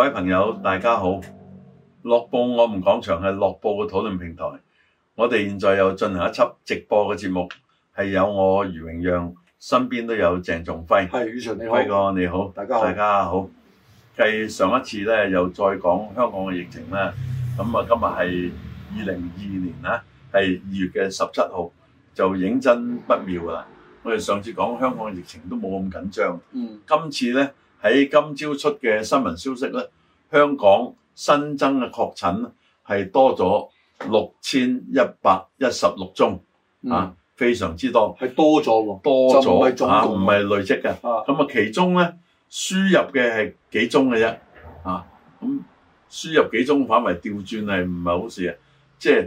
位朋友，大家好！樂報我們講場係樂報嘅討論平台，我哋現在又進行一輯直播嘅節目，係有我余榮讓，身邊都有鄭仲輝。 係，宇純你好， 輝哥你好， 大家好， 大家好。繼上一次咧，又再講香港嘅疫情啦。咁啊，今日係2022年啦，係2月嘅17號，就認真不妙啦。我哋上次講香港嘅疫情都冇咁緊張，今次咧。喺今朝出嘅新聞消息咧，香港新增嘅確診係多咗6116宗，非常之多， 係多咗喎， 多咗唔係累積嘅。咁其中咧輸入嘅係幾宗嘅啫，咁輸入幾宗反為調轉係唔係好事啊？即係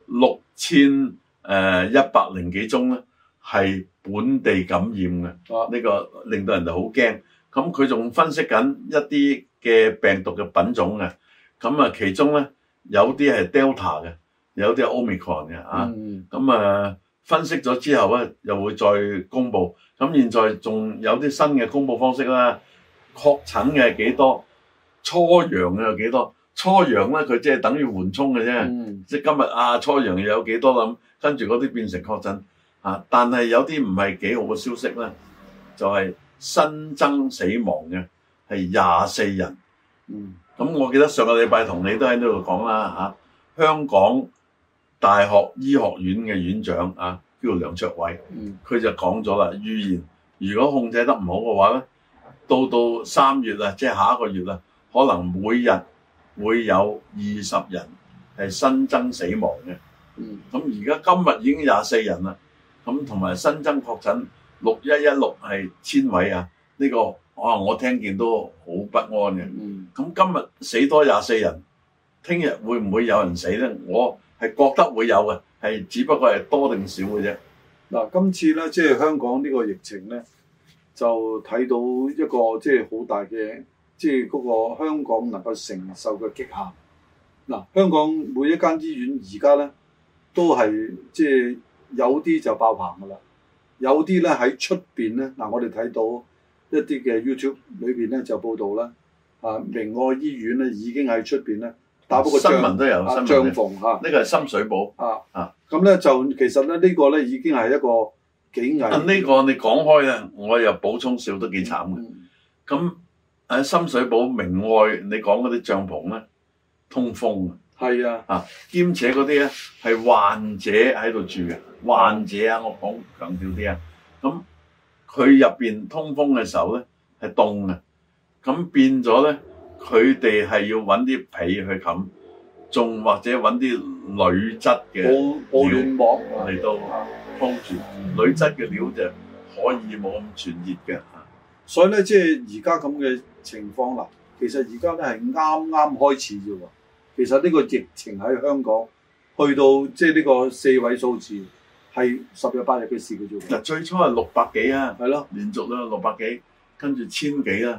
6100幾宗咧係本地感染嘅，呢個令到人哋好驚。咁佢仲分析緊一啲嘅病毒嘅品種嘅，咁啊其中咧有啲係 Delta 嘅，有啲係 Omicron 嘅咁分析咗之後咧又會再公佈。咁現在仲有啲新嘅公佈方式啦，確診嘅係幾多，初陽嘅有幾多？初陽咧佢即係等於緩衝嘅啫，即係今日初陽又有幾多啦？咁跟住嗰啲變成確診但係有啲唔係幾好嘅消息咧，就係新增死亡嘅係24人，咁我記得上個禮拜同你都喺呢度講啦香港大學醫學院嘅院長叫梁卓偉，佢就講咗啦，預言如果控制得唔好嘅話咧，到3月啊，即係下一個月啦，可能每日會有20人係新增死亡嘅，咁而家今日已經24人啦，咁同埋新增確診6116係千位呢個我聽見都好不安嘅。咁今日死多24人，聽日會唔會有人死咧？我係覺得會有嘅，係只不過係多定少嘅啫。 嗱，今次咧即係香港呢個疫情咧，就睇到一個即係好大嘅，即係嗰個香港能夠承受嘅極限。嗱，香港每一間醫院而家咧都係即係有啲就爆棚噶啦。有啲咧喺出邊咧，我哋睇到一啲嘅 YouTube 裏邊咧就報道啦，明愛醫院咧已經喺出邊咧打不過新聞都有帳篷呢個係深水埗咁咧就其實咧呢個咧已經係一個幾危險。 呢個你講開咧，我又補充少都幾慘嘅。咁喺深水埗明愛，你講嗰啲帳篷咧通風係兼且嗰啲咧係患者喺度住嘅。患者我講強調啲咁佢入邊通風嘅時候咧係凍嘅，咁變咗咧佢哋係要揾啲被去冚，仲或者揾啲鋁質嘅保暖膜嚟到鋪住。鋁質嘅料就可以冇咁傳熱嘅。 所以咧即係而家咁嘅情況啦，其實而家咧係啱啱開始啫喎。其實呢個疫情喺香港去到即係呢個4位數字。係10日8日嘅事嘅啫。 嗱，最初係600幾係咯， 連續啦600幾，跟住1000幾啦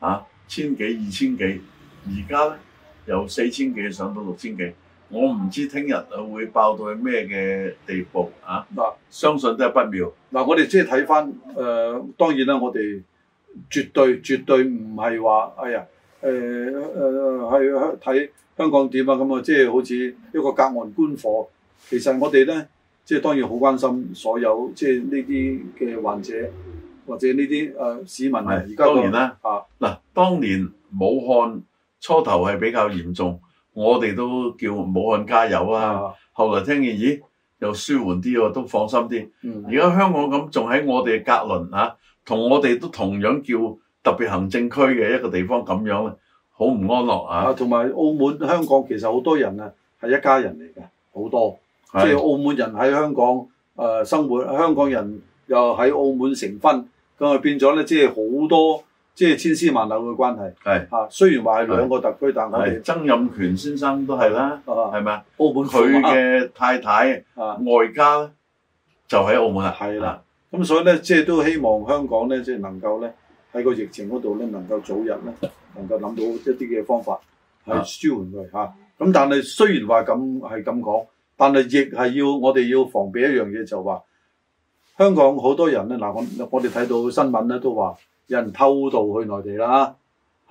，1000幾2000幾，而家咧由4000幾上到6000幾，我唔知聽日會爆到去咩嘅地步相信都係不妙。 我哋即係睇翻當然啦，我哋絕對唔係話係睇香港點咁即係好似一個隔岸觀火。其實我哋咧。即係當然好關心所有即係呢啲嘅患者或者呢啲市民而家當然啦當年武漢初頭係比較嚴重，我哋都叫武漢加油後來聽見咦又舒緩啲喎，都放心啲。而家香港咁仲喺我哋嘅隔鄰同我哋都同樣叫特別行政區嘅一個地方咁樣咧，好唔安樂同埋澳門香港其實好多人係一家人嚟嘅，好多。即係澳門人喺香港生活，香港人又喺澳門成婚，咁變咗咧，即係好多即係千絲萬縷嘅關係。雖然話係兩個特區，但我哋曾蔭權先生都係啦，係咪澳門佢嘅太太外家咧就喺澳門啦。 係啦，咁所以咧，即係都希望香港咧，即係能夠咧喺個疫情嗰度咧，能夠早日咧能夠諗到一啲嘅方法係舒緩佢咁但係雖然話咁係咁講。但係亦係我哋要防備一樣嘢，就話香港好多人咧，我哋睇到新聞咧都話有人偷渡去內地啦，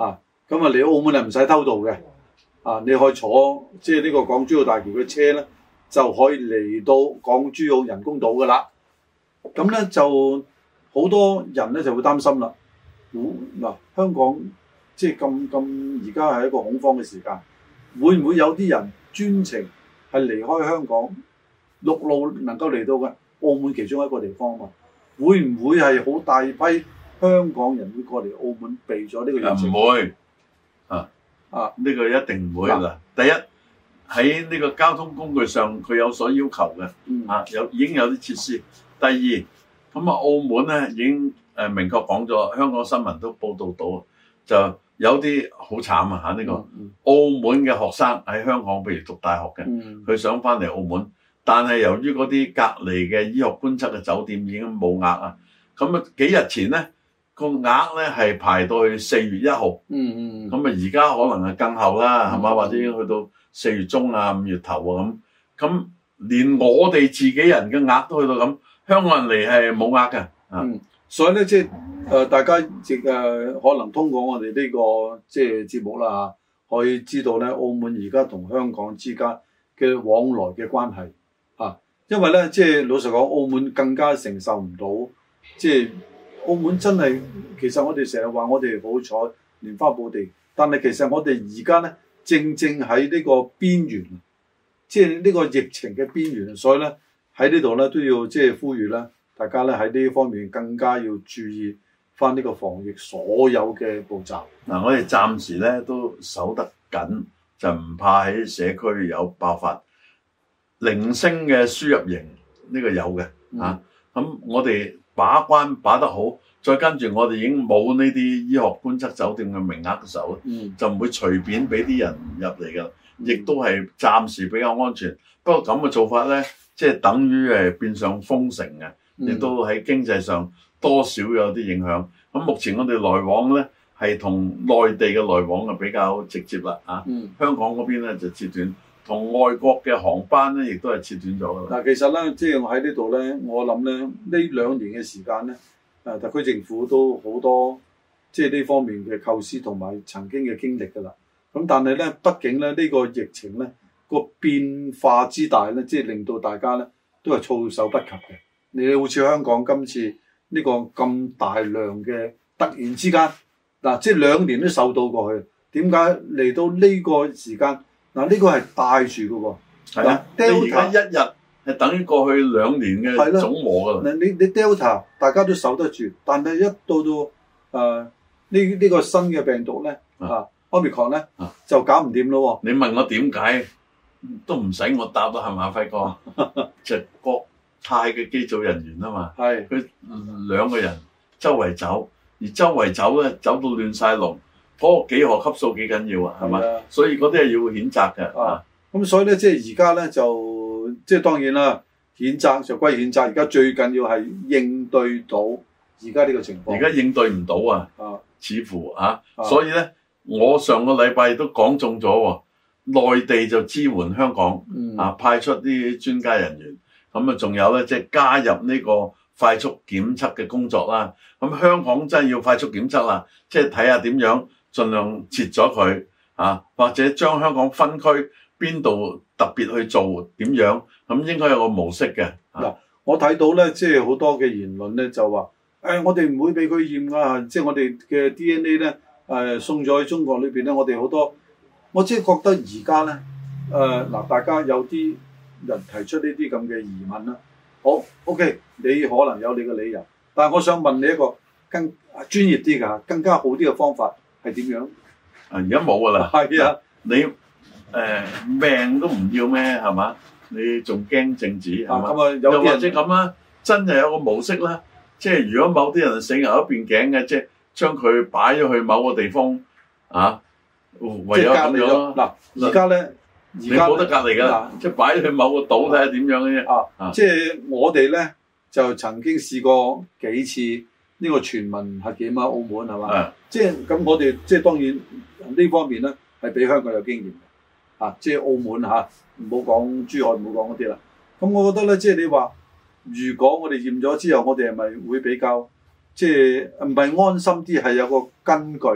咁啊嚟澳門係唔使偷渡嘅，你可以坐即係呢個港珠澳大橋嘅車咧，就可以嚟到港珠澳人工島噶啦。咁咧就好多人咧就會擔心啦。嗱，香港即係咁而家係一個恐慌嘅時間，會唔會有啲人專程係離開香港陸路能夠嚟到嘅澳門其中一個地方啊？會唔會係好大批香港人會過嚟澳門避咗呢個疫情？ 唔會呢個一定唔會啦。第一喺呢個交通工具上佢有所要求嘅，已經有啲設施。第二咁澳門咧已經明確講咗，香港新聞都報導到，就有啲好慘呢個澳門嘅學生喺香港，譬如讀大學嘅，佢想翻嚟澳門，但係由於嗰啲隔離嘅醫學觀察嘅酒店已經冇額啊，咁幾日前咧個額咧係排到去4月1號，咁而家可能係更後啦，係嘛？或者已經去到4月中啊、5月頭啊咁，連我哋自己人嘅額都去到咁，香港人嚟係冇額嘅。 所以咧即係大家亦可能通過我哋呢個即係節目啦可以知道咧澳門而家同香港之間嘅往來嘅關係因為咧即係老實講，澳門更加承受唔到，即係澳門真係其實我哋成日話我哋好彩蓮花寶地，但係其實我哋而家咧正喺呢個邊緣，即係呢個疫情嘅邊緣，所以咧喺呢度咧都要即係呼籲啦。大家咧喺呢方面更加要注意翻呢個防疫所有嘅步驟。 我哋暫時咧都守得緊，就唔怕喺社區有爆發。零星嘅輸入型呢個有嘅咁我哋把關把得好，再跟住我哋已經冇呢啲醫學觀察酒店嘅名額嘅時候，就唔會隨便俾啲人入嚟㗎，亦都係暫時比較安全。不過咁嘅做法咧，即係等於變相封城嘅。亦都喺經濟上多少有啲影響。咁目前我哋來往咧係同內地嘅來往比較直接啦香港嗰邊咧就切斷，同外國嘅航班咧亦都係切斷咗啦。 嗱，其實咧即係我喺呢度咧，我諗咧呢2年嘅時間咧，特區政府都好多即係呢方面嘅構思同埋曾經嘅經歷㗎啦。咁但係咧，畢竟咧呢個疫情咧個變化之大咧，即係令到大家咧都係措手不及嘅。你好似香港今次呢個咁大量嘅突然之間即係2年都受到過去，點解嚟到呢個時間呢個係帶住嘅喎？ 係啊，你而家一日係等於過去2年嘅總和㗎啦。 你 Delta 大家都守得住，但係一到呢個新嘅病毒咧Omicron 咧就搞唔掂咯喎！ 你問我點解都唔使我答啦，係咪輝哥？就國泰嘅機組人員啊嘛，佢2個人周圍走，而周圍走咧走到亂晒龍，嗰個幾何級數幾緊要啊，係嘛？所以嗰啲係要譴責嘅。 咁所以咧，即係而家咧就即係當然啦，譴責就歸譴責，而家最緊要係應對到而家呢個情況。而家應對唔到似乎所以咧，我上個禮拜都講中咗喎，內地就支援香港派出啲專家人員。咁仲有咧，即係加入呢個快速檢測嘅工作啦。咁香港真係要快速檢測啦，即係睇下點樣盡量截咗佢或者將香港分區邊度特別去做點樣，咁應該有個模式嘅。 我睇到咧，即係好多嘅言論咧，就話我哋唔會俾佢驗㗎，即係我哋嘅 DNA 咧送咗去中國裏邊咧，我哋好多，我即係覺得而家咧大家有啲人提出呢啲咁嘅疑問啦，好 OK， 你可能有你嘅理由，但係我想問你一個更專業啲㗎，更加好啲嘅方法係點樣？ 而家冇㗎啦， 係啊， 你命都唔要咩？係嘛？你仲驚政治係嘛？又或者咁啦，真係有個模式啦，即係如果某啲人死牛一邊頸嘅，即係將佢擺咗去某個地方唯有咁樣嗱，而家咧。 你冇得隔離㗎，即係擺去某個島睇下點樣嘅啫。 即係我哋咧就曾經試過幾次呢個全民核檢澳門係嘛？即係咁我哋即係當然呢方面咧係比香港有經驗嘅即係澳門唔好講珠海，唔好講嗰啲啦。咁我覺得咧，即係你話如果我哋驗咗之後，我哋係咪會比較即係唔係安心啲？係有個根據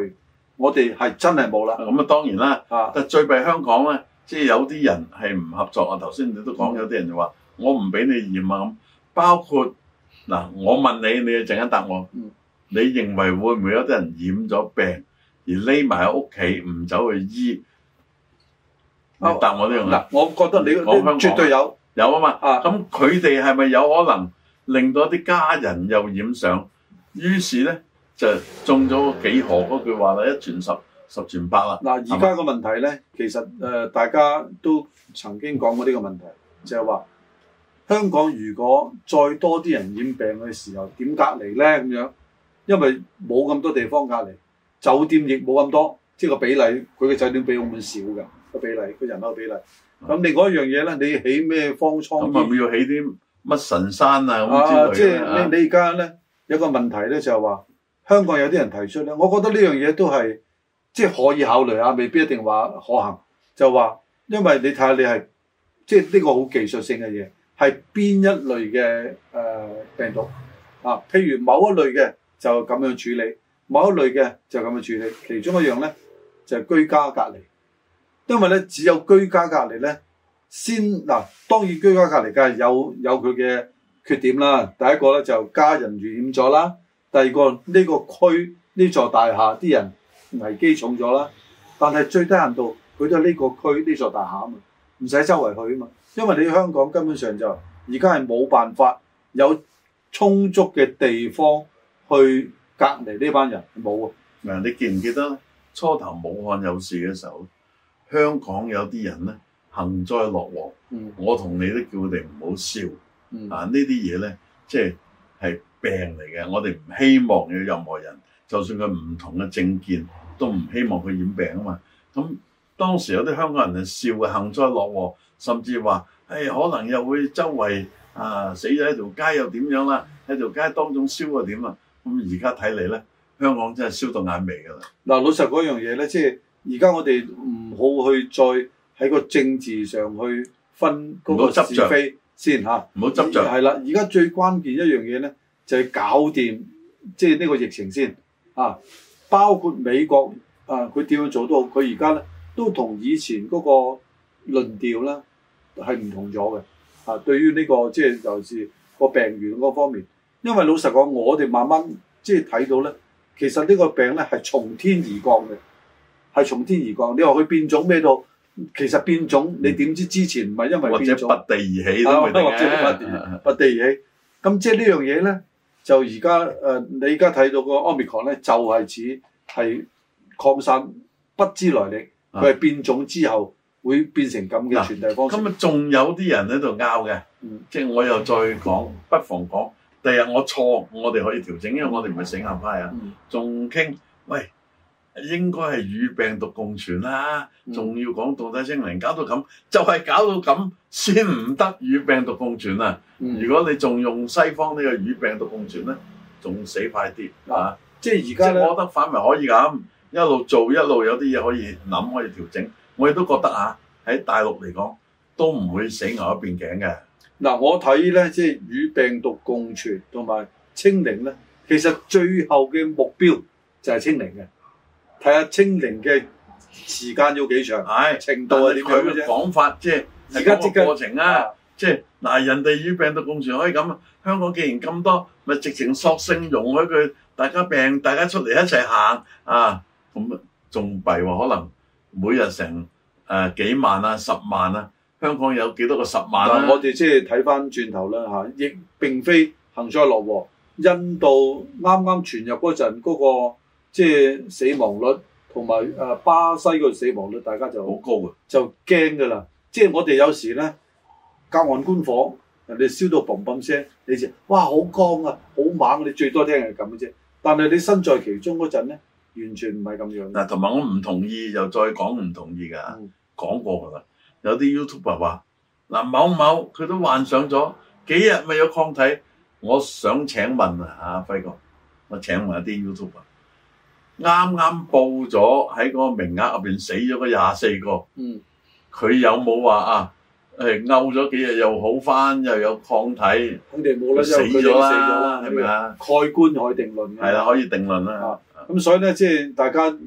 我哋係真係冇啦。 咁當然啦，但最弊香港咧，即係有啲人係唔合作啊。頭先你都講有啲人就話我唔俾你驗啊咁，包括嗱，我問你，你陣間答我。你認為會唔會有啲人染咗病而匿埋喺屋企唔走去醫？你答我呢樣嗱，我覺得你絕對有啊嘛。咁佢哋係咪有可能令到啲家人又染上？於是咧就中咗幾何嗰句話啦，一傳十，十傳百啦。 嗱，而家個問題咧，其實大家都曾經講過呢個問題，就係話香港如果再多啲人染病嘅時候，點隔離咧咁樣？因為冇咁多地方隔離，酒店亦冇咁多，即係個比例，佢嘅酒店比澳門少嘅個比例，個人口比例。咁另外一樣嘢咧，你起咩方艙？咁係咪要起啲乜神山啊咁之類嘅？ 即係你而家咧有個問題咧，就係話香港有啲人提出咧，我覺得呢樣嘢都係即係可以考慮下，未必一定話可行。就話因為你睇下你係即係呢個好技術性嘅嘢，係邊一類嘅病毒啊？譬如某一類嘅。就咁樣處理，某一類嘅就咁樣處理，其中一樣咧就係居家隔離，因為咧只有居家隔離咧先嗱，當然居家隔離梗係有佢嘅缺點啦。第一個咧就家人染咗啦，第二個呢個區呢座大廈啲人危機重咗啦，但係最低限度佢都係呢個區呢座大廈啊嘛，唔使周圍去啊嘛，因為你香港根本上就而家係冇辦法有充足嘅地方。去隔離呢班人冇啊！ 嗱，你記唔記得初頭武漢有事嘅時候，香港有啲人咧幸災樂禍。我同你都叫佢哋唔好笑。呢啲嘢咧，即係病嚟嘅。我哋唔希望有任何人，就算佢唔同嘅政見，都唔希望佢染病啊嘛。咁當時有啲香港人係笑嘅，幸災樂禍，甚至話可能又會周圍死咗喺條街又點樣啦？喺條街當中燒又點啊？咁而家睇嚟咧，香港真係燒到眼眉㗎啦。嗱， 老實嗰樣嘢咧，即係而家我哋唔好去再喺個政治上去分嗰個是非先嚇，唔好執着。係啦，而家最關鍵一樣嘢咧，就係搞掂即係呢個疫情先啊。包括美國佢點樣做都好，佢而家咧都同以前嗰個論調咧係唔同咗嘅。對於呢個即係尤其是個病源嗰方面。因為老實講，我哋慢慢即係睇到咧，其實呢個病咧係從天而降嘅，係從天而降。你話佢變種咩都，其實變種你點知之前唔係因為變種， 或者拔地而起都未定嘅，拔地而起。咁即係呢樣嘢咧，就而家你而家睇到個 Omicron 咧，就係似係擴散不知來歷，佢係變種之後會變成咁嘅傳遞方式。 咁仲有啲人喺度拗嘅，即係我又再講，不妨講。第日我錯，我哋可以調整，因為我哋唔係死硬派啊。仲傾，喂，應該係與病毒共存啦，仲要講到底清零，搞到咁，就係搞到咁先唔得與病毒共存啊！如果你仲用西方呢個與病毒共存咧，仲死快啲啊！ 即係而家咧， 我覺得反為可以咁，一路做一路有啲嘢可以諗，可以調整。我亦都覺得喺大陸嚟講都唔會死牛一邊頸嘅。 嗱，我睇咧，即係與病毒共存同埋清零咧，其實最後嘅目標就係清零嘅。睇下清零嘅時間要幾長，程度係點樣嘅啫。 講法即係而家即個過程啊，即係嗱，人哋與病毒共存可以咁，香港既然咁多，咪直情索性容許佢大家病，大家出嚟一齊行啊，咁仲弊喎，可能每日成幾萬啊、10萬啊。香港有幾多個10萬啊？ 我哋即係睇翻轉頭啦嚇，亦並非幸災樂禍。印度啱啱傳入嗰陣嗰個即係死亡率，同埋巴西個死亡率，大家就好高嘅， 就驚㗎啦。即係我哋有時咧隔岸觀火，人哋燒到砰砰聲，你就哇好光啊，好猛！你最多聽係咁嘅啫。但係你身在其中嗰陣咧，完全唔係咁樣。 嗱，同埋我唔同意，又再講唔同意㗎，講過㗎啦。有啲 YouTuber 話嗱，某某佢都患上咗幾日咪有抗體。我想請問啊，輝哥，我請問一啲 YouTuber，啱啱報咗喺嗰個名額入邊死咗嗰24個，佢有冇話勾咗幾日又好翻，又有抗體？佢哋冇啦，死咗啦，係咪啊？ 蓋棺可以定論嘅。 係啦，可以定論啦。 咁所以咧，即係大家唔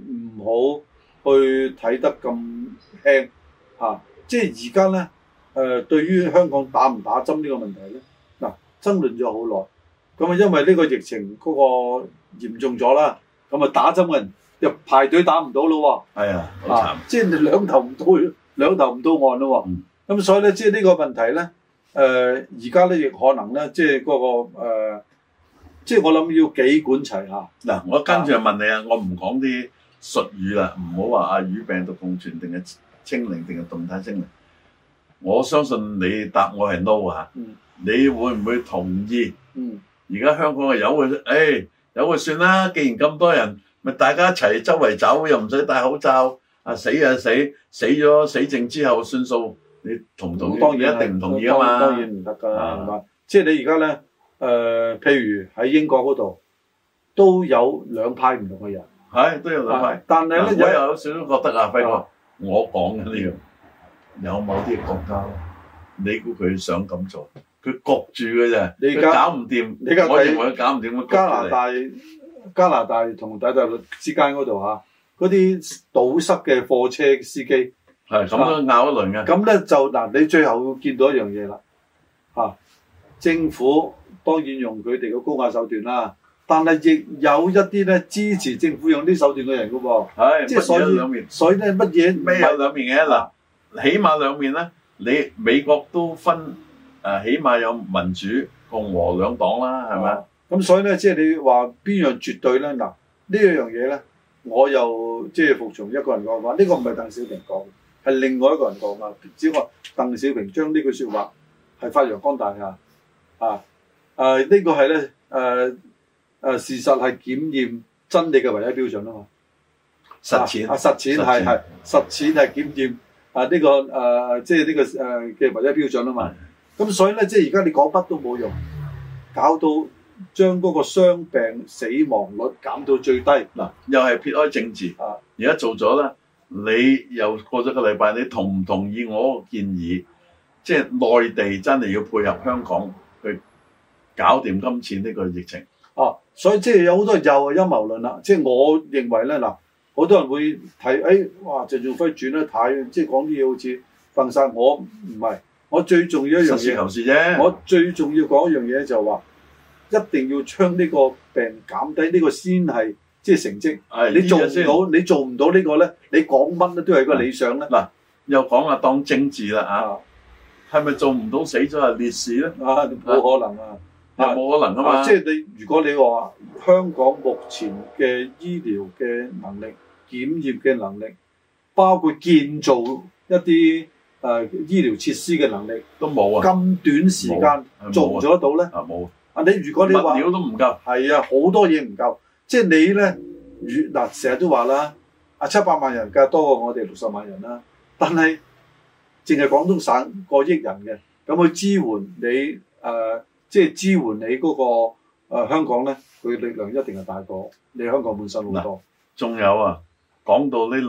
好去睇得咁輕嚇。即係而家咧對於香港打唔打針呢個問題咧，嗱爭論咗好耐。咁啊，因為呢個疫情嗰個嚴重咗啦，咁啊打針嘅人又排隊打唔到咯喎。 係啊，好慘。 即係兩頭唔到岸咯喎。咁所以咧，即係呢個問題咧，而家咧亦可能咧，即係嗰個即係我諗要幾管齊下。 嗱，我跟住就問你啊，我唔講啲術語啦，唔好話與病毒共存定係清零定係動態清零。我相信你答我係 no 啊。你會唔會同意？而家香港係有嘅，有嘅算啦。既然咁多人，咪大家一齊周圍走，又唔使戴口罩。死就死咗死症之後算數。你同唔同意？當然一定唔同意啊嘛。 當然唔得㗎，係嘛？即係你而家咧，譬如喺英國嗰度都有兩派唔同嘅人， 係都有兩派。 但係咧， 我有少少覺得啊，輝哥，我講嘅呢樣有某啲國家，你估佢想咁做？佢焗住嘅啫，佢搞唔掂。我認為佢搞唔掂。加拿大同大陸之間嗰度嗰啲堵塞嘅貨車司機係咁都拗一輪嘅。 咁咧就嗱，你最後會見到一樣嘢啦，政府當然用佢哋嘅高壓手段啦，但係亦有一啲咧支持政府用啲手段嘅人㗎喎。係，即係所以咧乜嘢咩有兩面嘅嗱，起碼兩面咧，你美國都分起碼有民主共和兩黨啦，係咪？ 咁所以咧，即係你話邊樣絕對咧？嗱，呢一樣嘢咧，我又即係服從一個人講話，呢個唔係鄧小平講，係另外一個人講話。只不過鄧小平將呢句説話係發揚光大㗎。呢個係咧事實係檢驗真理嘅唯一標準啊嘛。實踐係檢驗呢個即係呢個嘅唯一標準啊嘛。咁所以咧，即係而家你講乜都冇用，搞到將嗰個傷病死亡率減到最低。嗱， 又係撇開政治。而家做咗啦，你又過咗個禮拜，你同唔同意我個建議？即係內地真係要配合香港去搞掂今次呢個疫情。 所以即係有好多又係陰謀論啦。即係我認為咧，嗱，好多人會睇，哇，鄭仲輝轉得太，即係講啲嘢好似瞓晒。我唔係。我最重要一樣嘢，實事求是啫。我最重要講一樣嘢就係話，一定要將呢個病減低，呢個先係即係成績。你做唔到呢個咧，你講乜咧都係個理想咧。 嗱，又講下當政治啦係咪做唔到死咗係烈士咧？ 冇可能啊！ 冇可能啊嘛！ 即係如果你話香港目前嘅醫療嘅能力、檢驗嘅能力，包括建造一啲醫療設施嘅能力都冇啊！ 咁短時間做唔做得到咧？ 冇如果你話物料都唔夠， 係好多嘢唔夠。即係你咧，成日都話啦，700萬人梗係多過我哋60萬人啦。但係淨係廣東省過億人嘅，咁去支援你即係支援你嗰個香港咧，佢力量一定係大過你香港本身好多。 仲有講到呢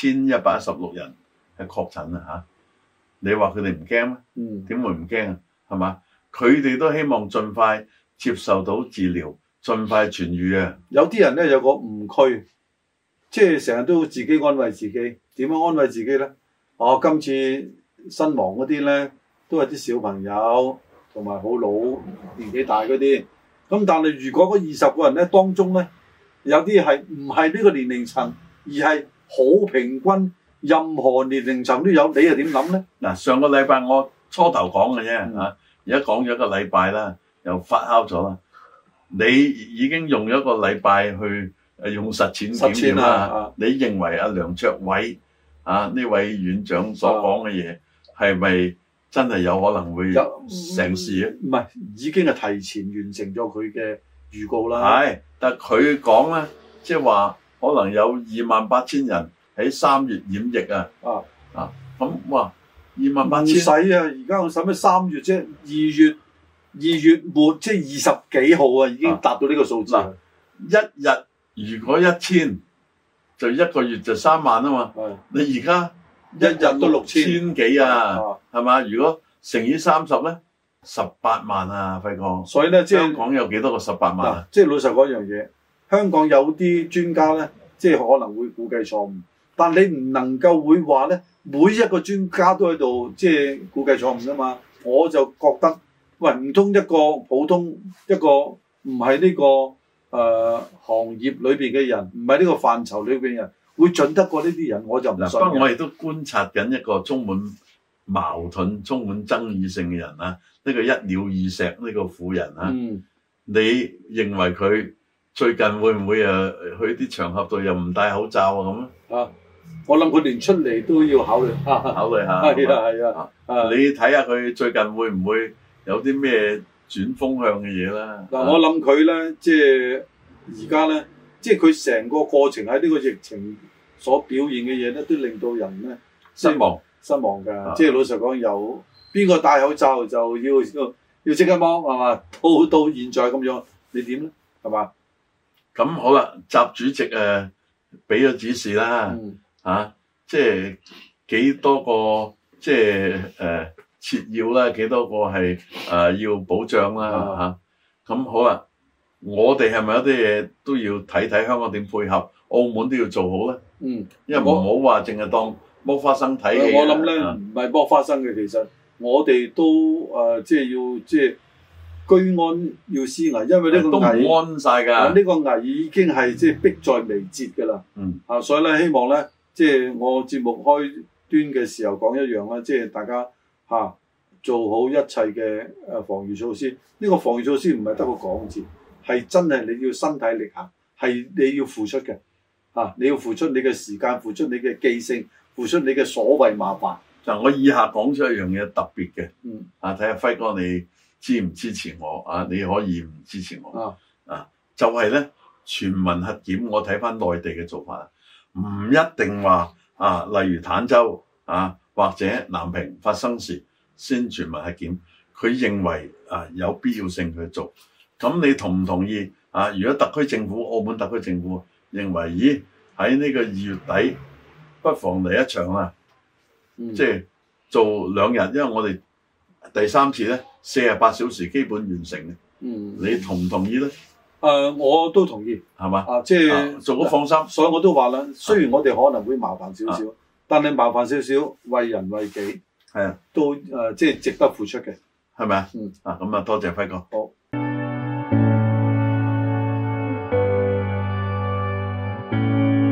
6116人係確診啦你話佢哋唔驚咩？點會唔驚啊？係嘛？佢哋都希望盡快接受到治療，盡快痊愈啊！ 有啲人咧有個誤區，即係成日都自己安慰自己。點樣安慰自己咧？今次身亡嗰啲咧都係啲小朋友同埋好老年紀大嗰啲。咁但係如果嗰20個人咧當中咧有啲係唔係呢個年齡層，而係好平均。任何年齡層都有，你又點諗咧？ 嗱，上個禮拜我初頭講嘅啫而家講咗一個禮拜啦，又發酵咗啦。你已經用咗一個禮拜去用實踐檢驗啦。你認為梁卓偉呢位院長所講嘅嘢係咪真係有可能會成事咧？ 唔係，已經係提前完成咗佢嘅預告啦。 係，但係佢講咧，即係話可能有28,000人。喺3月染疫咁哇，28,000 唔使而家我使咩3月啫？2月末即係20幾號已經達到呢個數字。 一日如果1000，就一個月就3萬啊嘛。你而家一日都6000幾係嘛？如果乘以30咧，18萬啊，輝哥。 所以咧，即係香港有幾多個18萬即係老實講一樣嘢，香港有啲專家咧。 即係可能會估計錯誤。但你唔能夠會話咧，每一個專家都喺度即係估計錯誤㗎嘛。我就覺得，喂，唔通一個普通一個唔係呢個行業裏邊嘅人，唔係呢個範疇裏邊嘅人，會準得過呢啲人？我就唔信。不過我亦都觀察緊一個充滿矛盾、充滿爭議性嘅人啊，呢個一鳥二石呢個婦人啊，你認為佢最近會唔會去啲場合度又唔戴口罩啊咁啊？ 我諗佢連出嚟都要考慮下。係啊， 你睇下佢最近會唔會有啲咩轉風向嘅嘢啦？ 嗱，我諗佢咧，即係而家咧，即係佢成個過程喺呢個疫情所表現嘅嘢咧，都令到人咧失望㗎。即係老實講，有邊個戴口罩就要即刻剝係嘛？到現在咁樣，你點咧？係嘛？ 咁好啦，習主席俾咗指示啦。即係幾多個即係切要啦，幾多個係要保障啦咁好啦，我哋係咪有啲嘢都要睇睇香港點配合？澳門都要做好咧。因為唔好話淨係當剝花生睇戲。 我諗咧唔係剝花生嘅，其實我哋都即係要即係居安要思危，因為呢個危都唔安晒㗎。 呢個危已經係即係迫在眉睫㗎啦。所以咧希望咧。即係我節目開端嘅時候講一樣啦，即係大家做好一切嘅防禦措施。呢個防禦措施唔係得個講字，係真係你要身體力行，係你要付出嘅你要付出你嘅時間，付出你嘅記性，付出你嘅所謂麻煩。 嗱，我以下講出一樣嘢特別嘅，睇下輝哥你支唔支持我你可以唔支持我就係咧全民核檢。我睇翻內地嘅做法。唔一定話例如坦洲或者南屏發生事先全民核檢，佢認為有必要性去做。咁你同唔同意如果特區政府、澳門特區政府認為，咦喺呢個2月底不妨嚟一場啦，即係做2日，因為我哋第3次咧48小時基本完成嘅。你同唔同意咧？ 我都同意，係嘛？即係做咗放心， 所以我都話啦，雖然我哋可能會麻煩少少，但係麻煩少少，為人為己， 係啊， 都即係值得付出嘅， 係咪啊？咁多謝輝哥。 好。